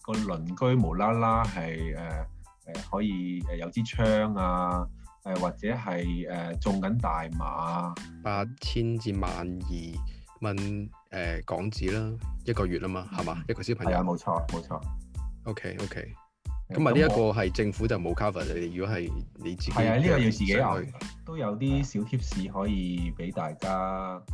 個鄰居無啦啦係可以有支槍啊，或者係中緊大麻 8000至12000蚊港紙啦，一個月啊嘛，係嘛？一個小朋友。 係啊，冇錯冇錯。 OK。咁啊，呢一個係政府就冇 cover 你，如果係你自己係啊，呢個要自己上去。 都有啲小 tips 可以俾大家。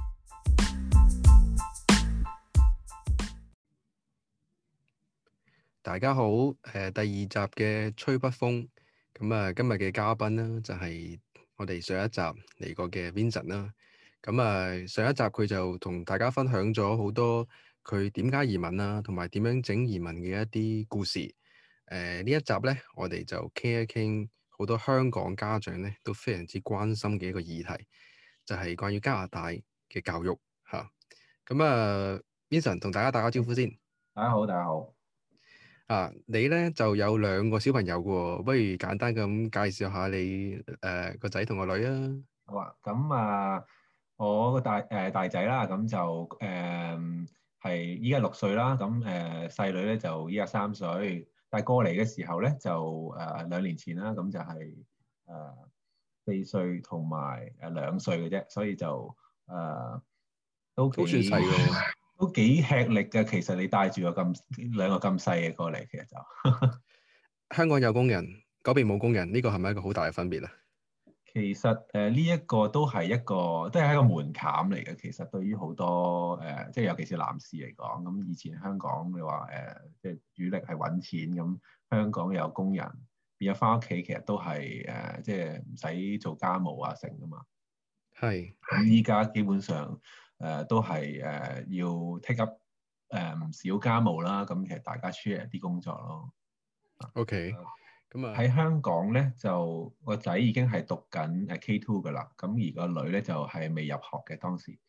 大家好，第二集嘅吹北風。咁啊，今日嘅嘉賓呢，就係我哋上一集嚟過嘅 Vincent 啦。咁啊，上一集佢就同大家分享咗好多佢點解移民啊，同埋點樣整移民嘅一啲故事。呢一集咧，我哋就傾一傾好多香港家長咧都非常之關心嘅一個議題，就係關於加拿大嘅教育嚇。咁Vincent 同大家打個招呼先。 大家好，大家好。 你咧就有2個小朋友嘅喎，不如簡單咁介紹下你個仔同個女啊。 好啊，咁我個大仔啦，咁就係依家6歲啦，咁細女咧就依家3歲。但係過嚟嘅時候咧，就2年前啦，咁就係4歲同埋2歲嘅啫，所以就都都算細喎。 都幾吃力嘅。其實你帶住個2個咁細嘅過嚟，其實就香港有工人，嗰邊冇工人，呢個係咪一個好大嘅分別啊？ 其實呢一個都係一個門檻嚟嘅。其實對於好多即係尤其是男士嚟講，咁以前香港你話即係主力係揾錢，咁香港有工人變咗翻屋企，其實都係即係唔使做家務啊成噶嘛。 係。 咁依家基本上都係要 take up 唔少家務啦。咁其實大家 share 啲工作咯。 OK。咁喺香港咧，就個仔已經係讀緊K2㗎啦，咁而個女咧就係未入學嘅當時。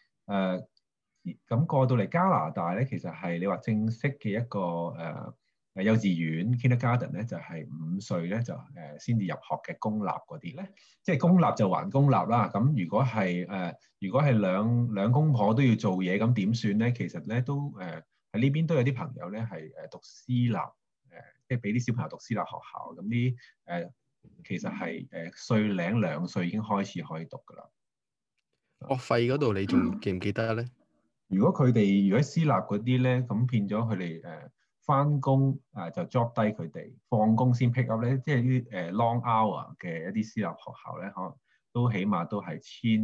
咁過到嚟加拿大咧，其實係你話正式嘅一個幼稚園 kindergarten 咧，就係5歲咧就先至入學嘅公立嗰啲咧，即係公立就還公立啦。咁如果係兩公婆都要做嘢，咁點算咧？其實咧都喺呢邊都有啲朋友咧係讀私立。即係俾啲小朋友讀私立學校，咁啲其實係歲零2歲已經開始可以讀㗎啦。 學費嗰度你仲記唔記得咧？ 如果喺私立嗰啲咧，咁變咗佢哋翻工就 drop 低佢哋，放工先 pick up 咧，即係啲long hour 嘅一啲私立學校咧，可能都起碼都係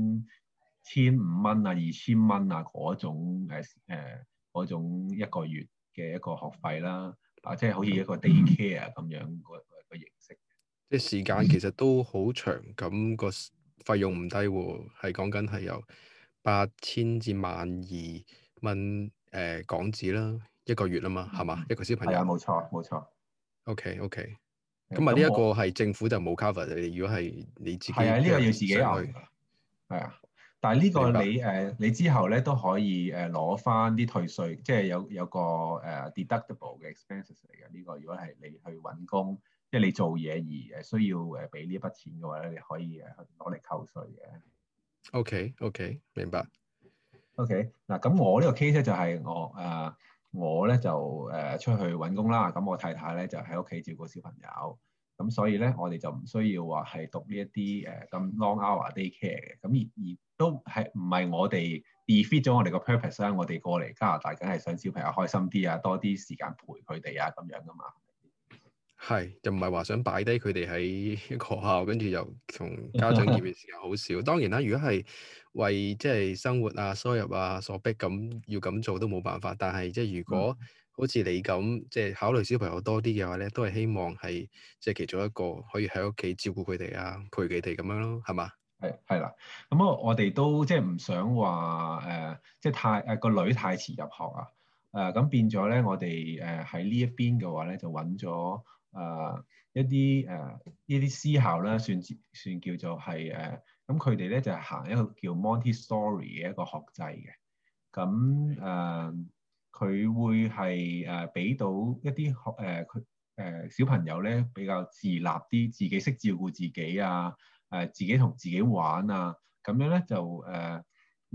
1500啊、2000蚊啊嗰種嗰種一個月嘅一個學費啦。即係好似一個 daycare 咁樣個形式。 即係時間其實都好長，咁個費用唔低喎，係講緊係由8000至12000蚊港紙啦，一個月啊嘛，係嘛？一個小朋友。 係啊，冇錯冇錯。 OK。咁呢一個係政府就冇 cover你，如果係你自己係啊，呢個要自己上去。 係啊，但係呢個明白。 你之後咧都可以攞翻啲退稅，即係有個deductible 嘅 expenses 嚟嘅。呢個如果係你去揾工，即係你做嘢而需要俾呢一筆錢嘅話咧，你可以攞嚟扣稅嘅。 OK，明白。 OK，嗱咁我呢個 case 咧就係我咧就出去揾工啦，咁我太太咧就喺屋企照顧小朋友，咁所以咧我哋就唔需要話係讀呢一啲咁 long hour daycare 嘅，咁而都係唔係我哋 defeat 咗我哋個 purpose 啦？我哋過嚟加拿大梗係想小朋友開心啲啊，多啲時間陪佢哋啊咁樣噶嘛。 係，就唔係話想擺低佢哋喺一個學校，跟住又同家長見面時間好少。當然啦，如果係為即係生活啊、收入啊所逼咁要咁做都冇辦法。但係即係如果好似你咁即係考慮小朋友多啲嘅話咧，都係希望係即係其中一個可以喺屋企照顧佢哋啊、陪佢哋咁樣咯，係嘛？ 係啦，咁我哋都即係唔想話即係個女太遲入學啊。咁變咗咧，我哋喺呢一邊嘅話咧，就揾咗一啲呢啲私校啦，算叫做係咁佢哋咧就係行一個叫 Montessori 嘅一個學制嘅。咁佢會係俾到一啲小朋友咧比較自立啲，自己識照顧自己啊。自己同自己玩啊，咁樣咧就會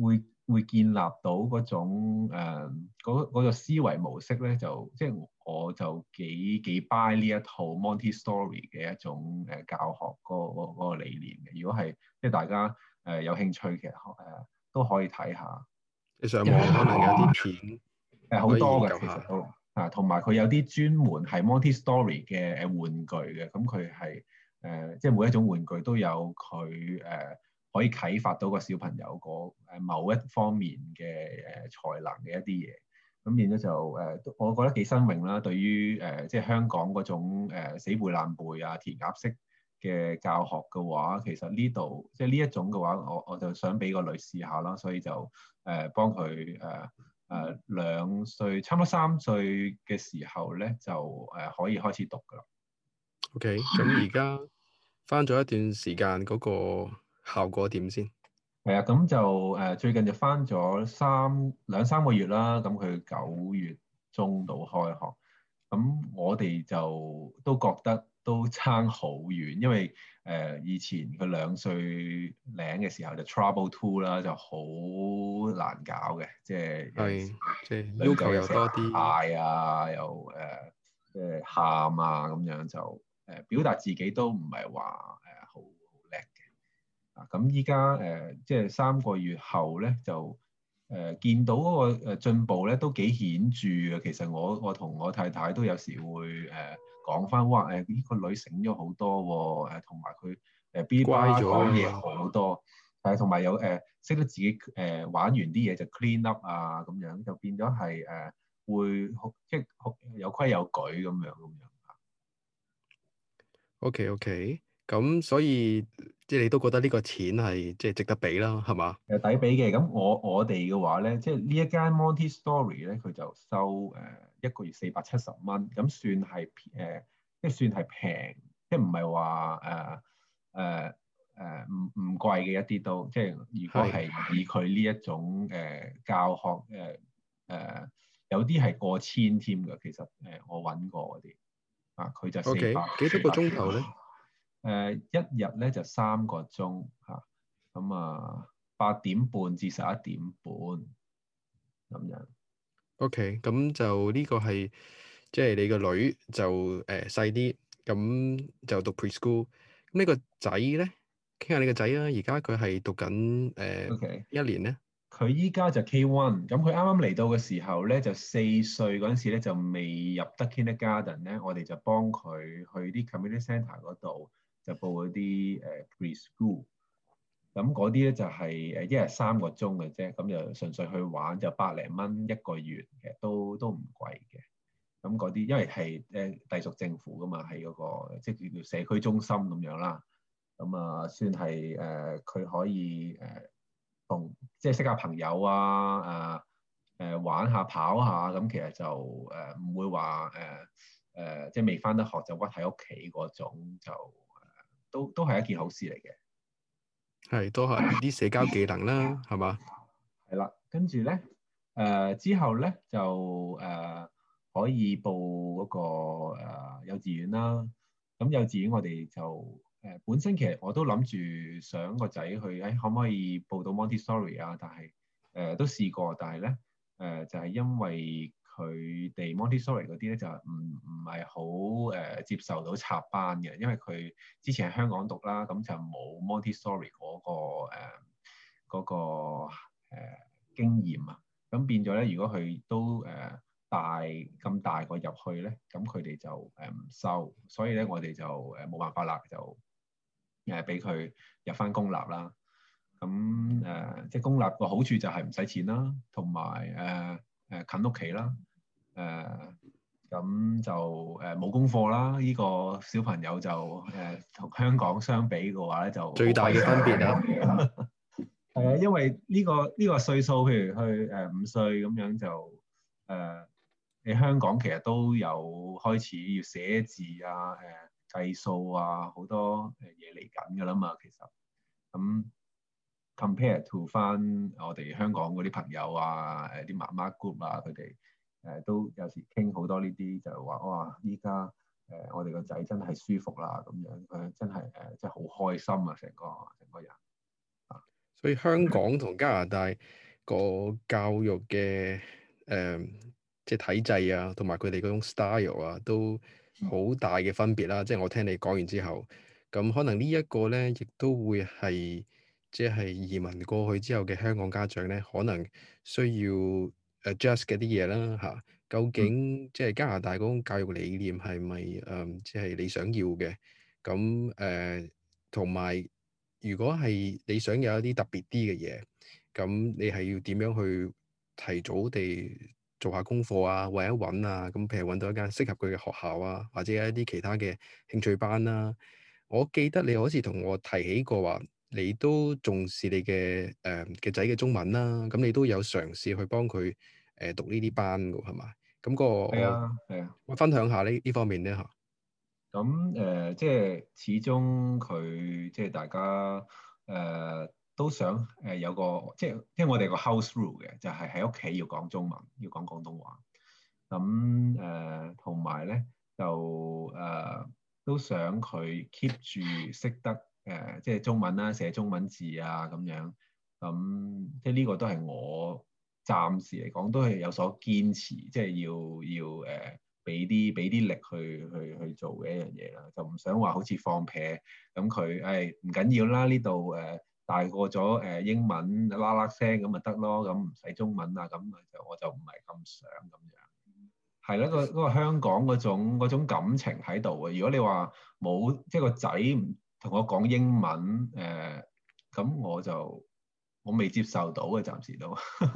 會建立到嗰種嗰個思維模式咧，就即係我就幾 buy 呢一套 Montessori 嘅一種教學嗰個理念嘅。如果係即係大家有興趣嘅都可以睇下。 你上因為網可能有啲片可以好多嘅研究下。 其實都同埋佢有啲專門係 Montessori 嘅玩具嘅，咁佢係即係每一種玩具都有佢可以啟發到個小朋友個某一方面嘅才能嘅一啲嘢，咁變咗就我覺得幾新穎啦。對於即係香港嗰種死背爛背啊填鴨式嘅教學嘅話，其實呢度即係呢一種嘅話，我就想俾個女試下啦，所以就幫佢2歲，差唔多3歲嘅時候咧，就可以開始讀㗎啦。 OK，咁而家返咗一段時間，嗰個效果點先？ 係啊，咁就最近就返咗兩三個月啦。咁佢9月中到開學，咁我哋就都覺得都差好遠，因為以前佢2歲零嘅時候就 Trouble Two 啦，就好難搞嘅，即係有陣時係，即係女要求又仔又成日多啲。 嗌啊，又即係喊啊咁樣，就表達自己都唔係話好叻嘅。咁依家即係3個月後咧，就見到嗰個進步咧都幾顯著嘅。其實我同我太太都有時會講翻，哇呢個女醒咗好多喎，同埋佢噼里啪啦乖咗講嘢啊。 好多，同埋有識得自己玩完啲嘢就 clean up 啊咁樣，就變咗係會即係有規有矩咁樣。 OK，咁所以即係你都覺得呢個錢係即係值得俾啦，係嘛？ 抵俾嘅。咁我哋嘅話咧，即係呢一間 Montessori 咧，佢就收一個月470蚊，咁算係即係算係平，即係唔係話唔貴嘅一啲都，即係如果係係。 以佢呢一種教學有啲係過千添㗎。其實我揾過嗰啲佢就四 OK， 百幾多個四百幾鐘頭咧一日咧就3個鐘咁8點半至11點半咁樣。 ？OK，咁就呢個係即係你個女就細啲，咁就讀 preschool。咁呢個仔咧，傾下你個仔啊，而家佢係讀緊 OK， 一年咧。 佢依家就 K1，咁佢啱啱嚟到嘅時候咧，就4歲嗰陣時咧就未入得 kindergarten 咧，我哋就幫佢去啲 community centre 嗰度就報嗰啲preschool。咁嗰啲咧就係一日3個鐘嘅啫，咁就純粹去玩，就100零蚊一個月，其實都唔貴嘅。咁嗰啲因為係隸屬政府噶嘛，喺嗰個即係叫做社區中心咁樣啦。咁算係佢可以同即係識下朋友玩下跑下，咁其實就唔會話即係未返得學就屈喺屋企嗰種，就都係一件好事嚟嘅。 係都係啲社交技能啦，係嘛？ 係啦，跟住咧，之後咧就可以報嗰個幼稚園啦。咁幼稚園我哋就本身其實我都諗住想個仔去，可唔可以報到 Montessori 啊？但係都試過，但係咧就係因為佢哋 Montessori 嗰啲咧就唔係好接受到插班嘅，因為佢之前喺香港讀啦，咁就冇 Montessori 嗰個經驗啊。咁變咗咧，如果佢都咁大個入去咧，咁佢哋就唔收，所以咧我哋就冇辦法啦，就俾佢入翻公立啦。咁即係公立個好處就係唔使錢啦，同埋近屋企啦。咁就冇功課啦。呢個小朋友就同香港相比嘅話咧，就好最大嘅開心。 分別啊。 係啊，因為呢個歲數，譬如去5歲咁樣就你香港其實都有開始要寫字計數好多嘢嚟緊㗎啦嘛。其實咁 compare to 翻我哋香港嗰啲朋友啲媽媽 group 佢哋都有時傾好多呢啲，就係話哇，依家我哋個仔真係舒服啦咁樣，真係真係好開心啊，成個人。 所以香港同加拿大個教育嘅即係體制啊，同埋佢哋嗰種 style 啊，都好大嘅分別啦。即係我聽你講完之後，咁可能呢一個咧，亦都會係即係移民過去之後嘅香港家長咧，可能需要 adjust 嘅啲嘢啦嚇。究嗯， 竟即係加拿大嗰種教育理念係咪即係你想要嘅？咁同埋如果係你想有一啲特別啲嘅嘢，咁你係要點樣去提早地做下功課啊，或者揾啊，咁譬如揾到一間適合佢嘅學校啊，或者一啲其他嘅興趣班啦。我記得你好似同我提起過話，你都重視你嘅仔嘅中文啦，咁你都有嘗試去幫佢讀呢啲班㗎，係嘛？咁個係啊，係啊。 我分享下呢方面咧嚇。 咁即係始終佢即係大家都想有個即係我哋個 house rule 嘅，就係喺屋企要講中文，要講廣東話。咁同埋咧就都想佢 keep 住識得即係中文啦，寫中文字啊咁樣。咁即係呢個都係我暫時嚟講都係有所堅持，即係要俾啲力去做嘅一樣嘢啦，就唔想話好似放屁咁佢誒唔緊要啦，呢度大個咗英文啦啦聲咁咪得咯，咁唔使中文啊，咁我就唔係咁想咁樣。係啦，嗰個香港嗰種感情喺度嘅。如果你話冇即係個仔唔同我講英文咁我未接受到嘅，暫時都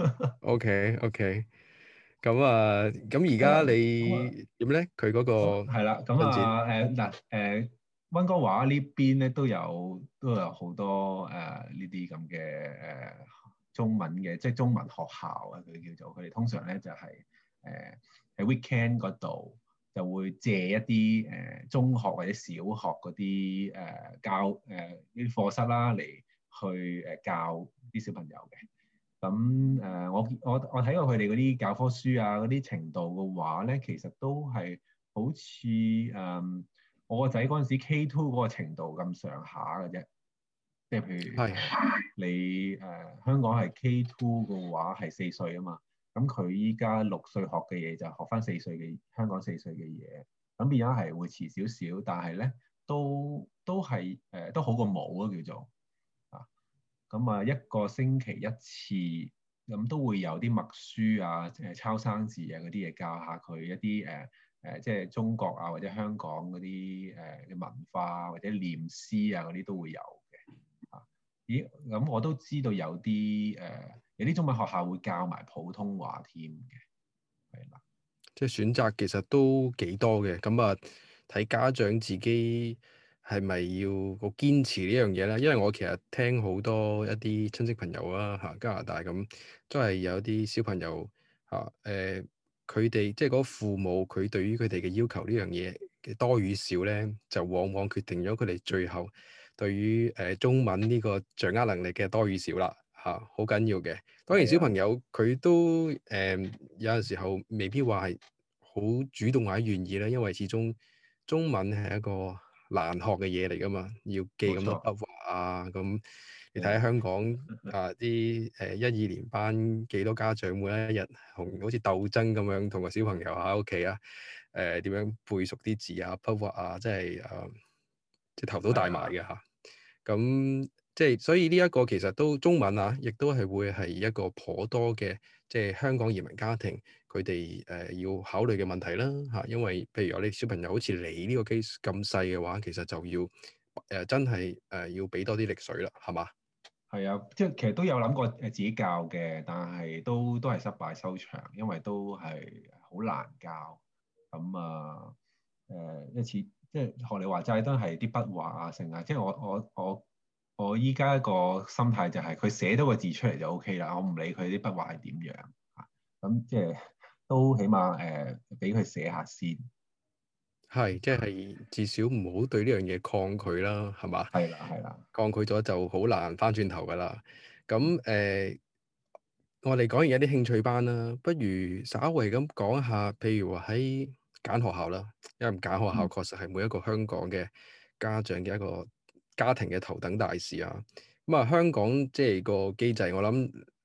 OK OK，咁而係啦。 家咁啊你點咧？佢嗰個係啦，咁進展啊嗱溫哥華呢邊咧都有好多呢啲咁嘅中文嘅，即係中文學校啊，佢叫做佢哋通常咧就係喺 weekend 嗰度就會借一啲中學或者小學嗰啲教呢啲課室啦嚟去教啲小朋友嘅。咁我睇過佢哋嗰啲教科書啊，嗰啲程度嘅話咧，其實都係好似我個仔嗰陣時 K2 嗰個程度咁上下嘅啫。即係譬如係你香港係 K2 嘅話係4歲啊嘛，咁佢依家6歲學嘅嘢就學翻香港4歲嘅嘢，咁變咗係會遲少少，但係咧都係都好過冇咯叫做。啊。咁啊，一個星期一次，咁都會有啲默書啊、抄生字啊嗰啲嘢教下佢一啲即係中國啊或者香港嗰啲嘅文化啊或者念詩啊嗰啲都會有嘅。啊，咦，咁我都知道有啲中文學校會教埋普通話添嘅，係啦。 即係選擇其實都幾多嘅，咁啊睇家長自己係咪要個堅持呢樣嘢咧？因為我其實聽好多一啲親戚朋友啦嚇，加拿大咁都係有啲小朋友嚇佢哋即係嗰個父母佢對於佢哋嘅要求呢樣嘢嘅多與少咧，就往往決定咗佢哋最後對於中文呢個掌握能力嘅多與少啦嚇，好緊要嘅。當然小朋係啊， 友佢都有陣時候未必話係好主動或者願意啦，因為始終中文係一個難學嘅嘢嚟㗎嘛，要記咁多冇錯。 筆畫啊，咁你睇下係啊， 香港啊啲1、2年班幾多家長每一日同好似鬥爭咁樣同個小朋友喺屋企啊點樣背熟啲字啊筆畫啊，即係即係頭都大埋係啊。 嘅嚇。咁即係所以呢一個其實都中文啊，亦都係會係一個頗多嘅即係香港移民家庭佢哋要考慮嘅問題啦嚇。因為譬如我哋小朋友好似你呢個 case 咁細嘅話，其實就要真係要俾多啲力水啦，係嘛？ 係啊，即係其實都有諗過自己教嘅，但係都係失敗收場，因為都係好難教。咁一次即係學你話齋，都係啲筆畫啊，成啊，即係我依家個心態就係佢寫到個字出嚟就 OK 啦，我唔理佢啲筆畫係點樣啊。咁即係都起碼俾佢寫下先。 係，即係至少唔好對呢樣嘢抗拒啦，係嘛？ 係啦，係啦。 抗拒咗就好難翻轉頭噶啦。咁我哋講完一啲興趣班啦，不如稍微咁講一下，譬如話喺揀學校啦，因為揀學校嗯。 確實係每一個香港嘅家長嘅一個家庭嘅頭等大事啊。咁啊，香港即係個機制，我諗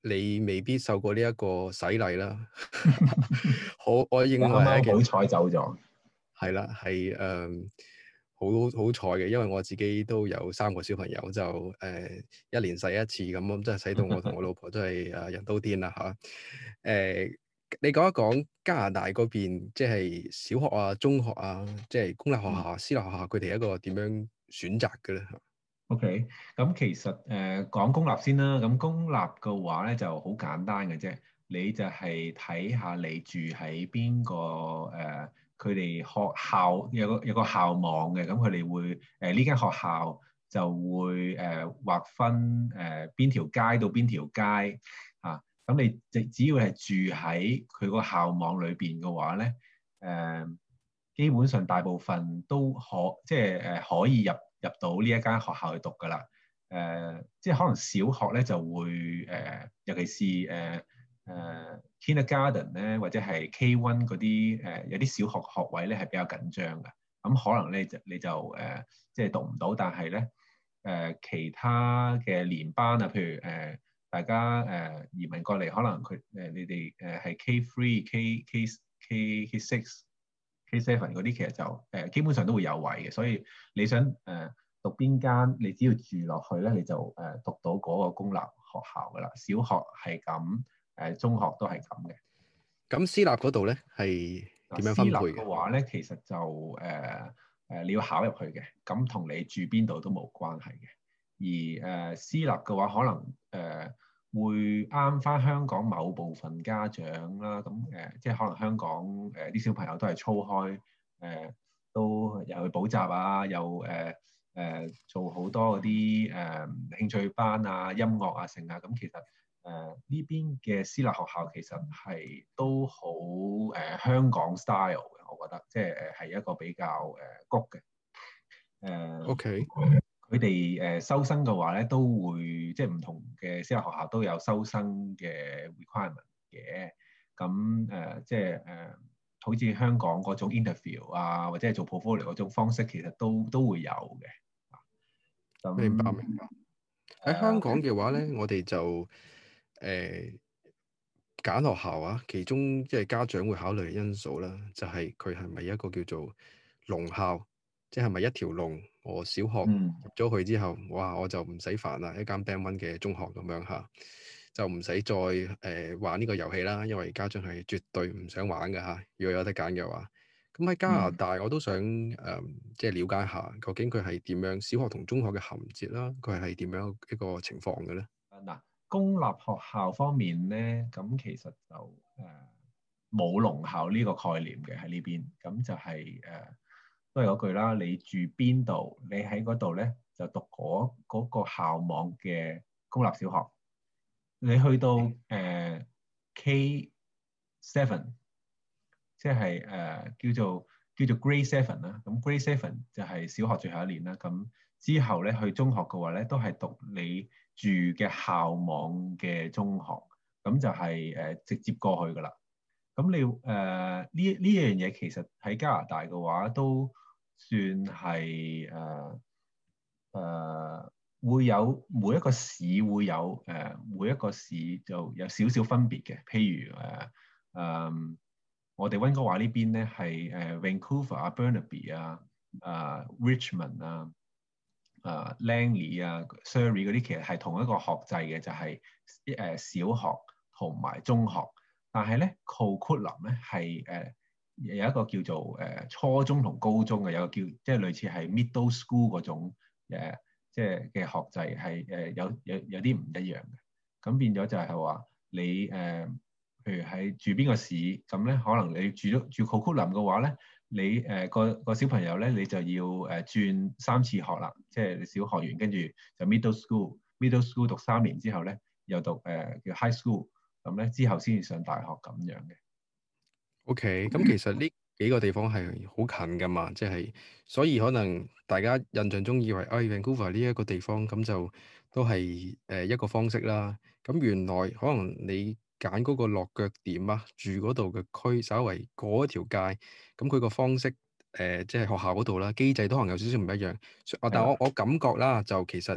你未必受過呢一個洗禮啦。我認你啱為咧，其實啱好彩走咗。 係啦，係好好彩嘅，因為我自己都有3個小朋友，就一年洗一次咁，即係洗到我同我老婆都係人都癲啦嚇。你講一講加拿大嗰邊，即係小學啊、中學啊，即係公立學校、私立學校，佢哋一個點樣選擇嘅咧？ OK，咁其實講公立先啦。咁公立嘅話咧就好簡單嘅啫，你就係睇下你住喺邊個佢哋學校有個校網嘅，咁佢哋會呢間學校就會劃分邊條街到邊條街啊。咁你只要係住喺佢個校網裏邊嘅話咧，誒、基本上大部分都即係可以入到呢一間學校去讀㗎啦。即係可能小學咧就會尤其是kindergarten 咧，或者係 K1嗰啲有啲小學學位咧係比較緊張嘅。咁可能咧你就即係讀唔到，但係咧其他嘅年班啊，譬如大家移民過嚟，可能你哋係 K3、K6、K7 嗰啲，其實就基本上都會有位嘅，所以你想讀邊間，你只要住落去咧，你就讀到嗰個公立學校噶啦。小學係咁，中學都係咁嘅。 咁私立嗰度咧係嗱， 點樣私立分配嘅？ 嘅話咧，其實就你要考入去嘅，咁同你住邊度都冇關係嘅。而私立嘅話，可能會啱翻香港某部分家長啦。咁即係可能香港啲小朋友都係操開都有去補習啊，又做好多嗰啲興趣班啊、音樂啊、成啊。咁其實呢邊嘅私立學校其實係都好香港 style 嘅，我覺得即係係一個比較谷嘅。 OK， 佢哋收生嘅話咧，都會即係唔同嘅私立學校都有收生嘅 requirement 嘅。咁即係好似香港嗰種 interview 啊，或者係做 portfolio 嗰種方式，其實都會有嘅。 明白咁明白。喺香港嘅話咧，我哋就誒揀學校啊，其中即係家長會考慮嘅因素啦，就係佢係咪一個叫做龍校，即係咪一條龍？我小學嗯入咗去之後，哇，我就唔使煩啦，一間 Band One 嘅中學咁樣嚇，就唔使再玩呢個遊戲啦，因為家長係絕對唔想玩嘅嚇。如果有得揀嘅話，咁喺加拿嗯。 大我都想即係了解下，究竟佢係點樣小學同中學嘅銜接啦，佢係點樣一個情況嘅咧？ 嗱，公立學校方面咧，咁其實就冇聾校呢個概念嘅喺呢邊，咁就係都係嗰句啦，你住邊度，你喺嗰度咧就讀嗰個校網嘅公立小學，你去到K7，即係叫做 Grade Seven 啦，咁 Grade Seven 就係小學最後一年啦，咁之後咧去中學嘅話咧，都係讀你住嘅校網嘅中學，咁就係直接過去噶啦。咁你呢樣嘢其實喺加拿大嘅話都算係會有每一個市會有每一個市就有少少分別嘅，譬如我哋溫哥華呢邊咧係Vancouver 啊、Burnaby 啊、Richmond 啊、Langley 啊、Surrey 嗰啲，其實係同一個學制嘅，就係小學同埋中學。但係咧 Coquitlam 咧係有一個叫做初中同高中嘅，有個叫即係類似係 middle school 嗰種即係嘅學制係有啲唔一樣嘅。咁變咗就係話你譬如喺住邊個市，咁咧可能你住 Coquitlam 嘅話咧，你個小朋友咧，你就要轉3次學啦，即係你小學完跟住就 middle school 讀3年之後咧，又讀叫 high school，咁咧之後先至上大學咁樣嘅。 OK，咁其實呢幾個地方係好近噶嘛，即係所以可能大家印象中以為，Vancouver 呢一個地方咁就都係一個方式啦。咁原來可能你揀嗰個落腳點啊，住嗰度嘅區，稍為過一條街，咁佢個方式即係學校嗰度啦，機制都可能有少少唔一樣。但係啦， 我感覺啦，就其實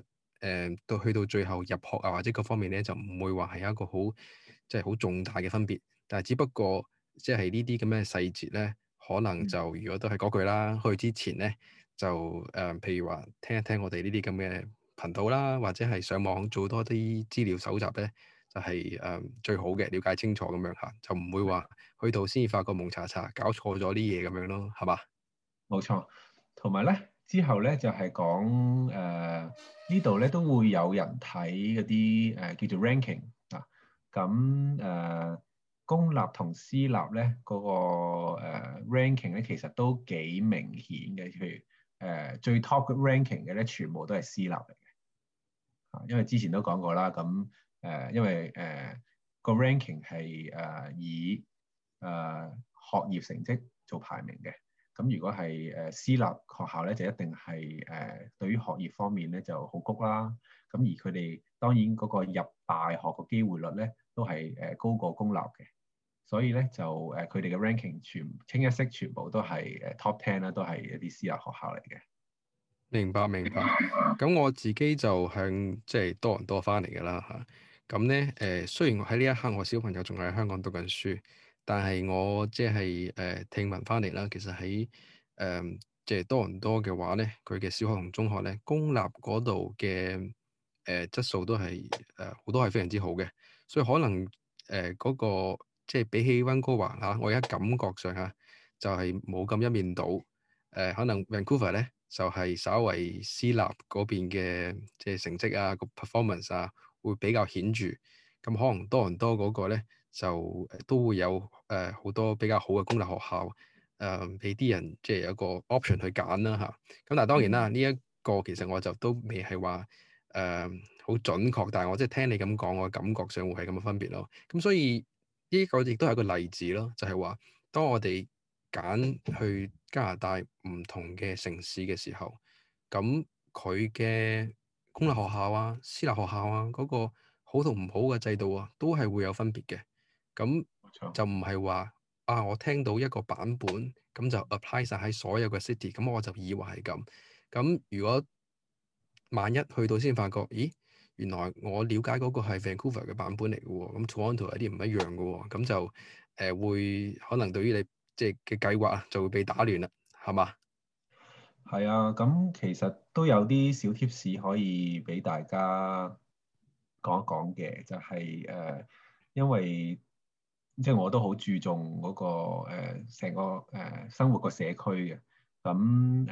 到去到最後入學啊或者各方面咧，就唔會話係一個好即係好重大嘅分別。但係只不過即係呢啲咁嘅細節咧，可能就如果都係嗰句啦，去之前咧就譬如話聽一聽我哋呢啲咁嘅頻道啦，或者係上網做多啲資料搜集咧，就係最好嘅，了解清楚咁樣嚇，就唔會話去到先至發覺蒙查查搞錯咗啲嘢咁樣咯，係嘛？ 冇錯。同埋咧之後咧就係講呢度咧都會有人睇嗰啲叫做 ranking 啊。咁公立同私立咧嗰個ranking 咧其實都幾明顯嘅。譬如最 top 嘅 ranking 嘅咧全部都係私立嚟嘅。因為之前都講過啦，咁因為個 ranking 係以學業成績做排名嘅。咁如果係私立學校咧，就一定係對於學業方面咧就好谷啦。咁而佢哋當然嗰個入大學個機會率咧都係高過公立嘅。所以咧就佢哋嘅 ranking 清一色全部都係top 10啦，都係一啲私立學校嚟嘅。 明白明白。咁我自己就向即係多倫多翻嚟㗎啦嚇。咁咧雖然我喺呢一刻我小朋友仲喺香港讀緊書，但係我即係聽聞翻嚟啦，其實喺即係多倫多嘅話咧，佢嘅小學同中學咧，公立嗰度嘅質素都係好多係非常之好嘅，所以可能嗰個即係比起溫哥華嚇，我而家感覺上嚇就係冇咁一面倒。可能 Vancouver 咧就係稍為私立嗰邊嘅即係成績啊個 performance 啊會比較顯著，咁可能多倫多嗰個咧就都會有好多比較好嘅公立學校，俾啲人即係有個 option 去揀啦嚇。咁但係當然啦，呢一個其實我就都未係話好準確，但係我即係聽你咁講，我感覺上會係咁嘅分別咯。咁所以呢個亦都係一個例子咯，就係話當我哋揀去加拿大唔同嘅城市嘅時候，咁佢嘅公立學校啊、私立學校啊，嗰個好同唔好嘅制度啊，都係會有分別嘅。咁冇錯。 就唔係話啊，我聽到一個版本，咁就 apply 晒喺所有嘅 city，咁我就以為係咁。咁如果萬一去到先發覺，咦，原來我了解嗰個係 Vancouver 嘅版本嚟嘅喎，咁 Toronto 有啲唔一樣嘅喎，咁就會可能對於你即係嘅計劃啊，就會被打亂啦，係嘛？ 係啊，咁其實都有啲小 tips 可以俾大家講一講嘅，就係因為即係我都好注重嗰個成個生活個社區嘅。咁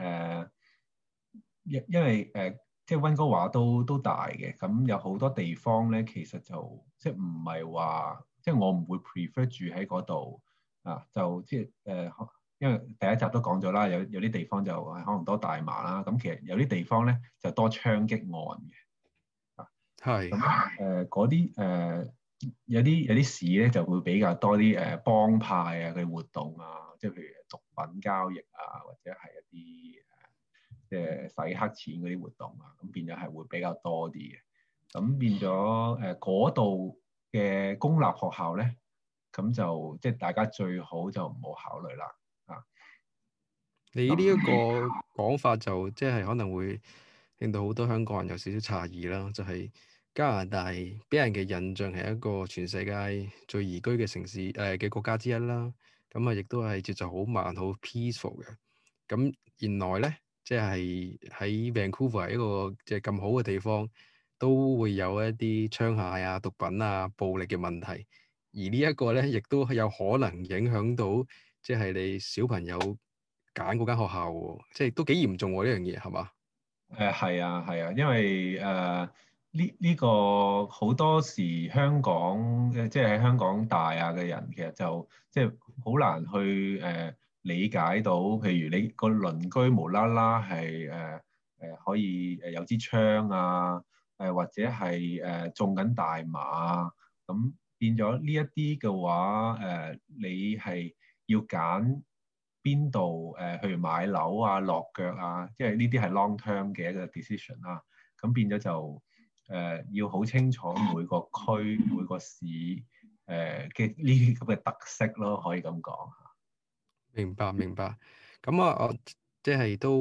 因為即係溫哥華都大嘅。咁有好多地方咧，其實就即係唔係話，即係我唔會 prefer 住喺嗰度啊。就即係因為第一集都講咗啦，有啲地方就係可能多大麻啦。咁其實有啲地方咧就多槍擊案嘅。咁係嗰啲有啲市咧就會比較多啲幫派啊嘅活動啊，即係譬如毒品交易啊，或者係一啲即係洗黑錢嗰啲活動啊，咁變咗係會比較多啲嘅。咁變咗嗰度嘅公立學校咧，咁就即係大家最好就唔好考慮啦。啊， 你呢一個咁講法就即係可能會令到好多香港人有少少詫異啦，就係加拿大俾人嘅印象係一個全世界最宜居嘅城市嘅國家之一啦。咁啊，亦都係節奏好慢、好 peaceful 嘅。咁原來咧，即係喺 Vancouver 一個即係咁好嘅地方，都會有一啲槍械啊、毒品啊、暴力嘅問題。而呢一個咧，亦都有可能影響到即係你小朋友揀嗰間學校喎，即係都幾嚴重喎呢樣嘢係嘛？ 係啊係啊，因為呢個好多時香港即係喺香港大啊嘅人，其實就即係好難去理解到，譬如你個鄰居無啦啦係可以有支槍啊，或者係種緊大麻啊。咁變咗呢一啲嘅話，你係要揀邊度去買樓啊、落腳啊，即係呢啲係 long term 嘅一個 decision 啦。咁變咗就要好清楚每個區、每個市嘅呢啲咁嘅特色咯，可以咁講。 明白明白。咁啊，我即係都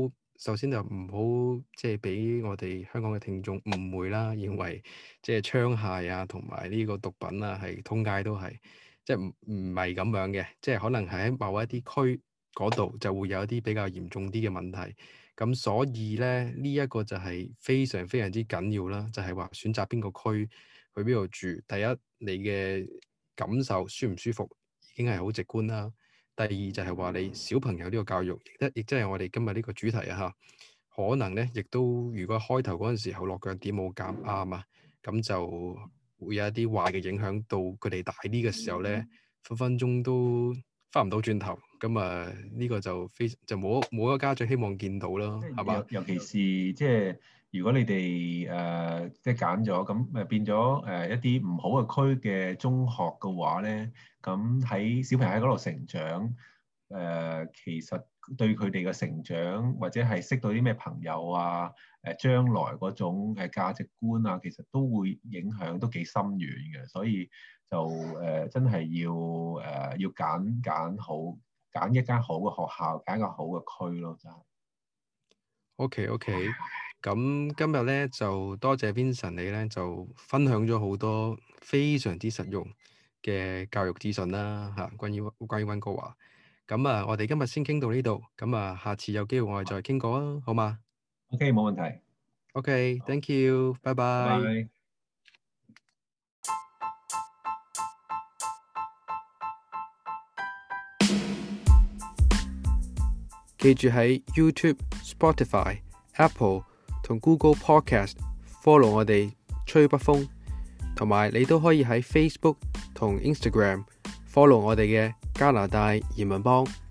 首先就唔好即係俾我哋香港嘅聽眾誤會啦，認為即係槍械啊同埋呢個毒品啊係通街都係，即係唔係咁樣嘅，即係可能係喺某一啲區嗰度就會有一啲比較嚴重啲嘅問題。咁所以咧呢一個就係非常非常之緊要啦，就係話選擇邊個區去邊度住。第一，你嘅感受舒唔舒服已經係好直觀啦。第二就係話你小朋友呢個教育，亦即係我哋今日呢個主題啊嚇。可能咧，亦都如果開頭嗰陣時候落腳點冇夾啱啊，咁就會有一啲壞嘅影響到佢哋大啲嘅時候咧，分分鐘都翻唔到轉頭。咁啊，呢個就冇一個家長希望見到啦，係嘛？ 尤其是即係如果你哋即係揀咗咁變咗一啲唔好嘅區嘅中學嘅話咧，咁喺小朋友喺嗰度成長，其實對佢哋嘅成長或者係識到啲咩朋友啊，將來嗰種價值觀啊，其實都會影響都幾深遠嘅，所以就真係要揀好，揀一間好嘅學校，揀一個好嘅區咯，就係。 OK，咁今日咧就多謝 Vincent 你咧就分享咗好多非常之實用嘅教育資訊啦嚇，關於溫哥華。咁啊，我哋今日先傾到呢度，咁啊，下次有機會我哋再傾過啊，好嗎 OK，冇問題。 ？OK，thank you，拜拜拜。 拜。 記住喺 YouTube、Spotify、Apple 同 Google Podcast follow 我哋吹北風，同埋你都可以喺 Facebook 同 Instagram follow 我哋嘅加拿大移民幫。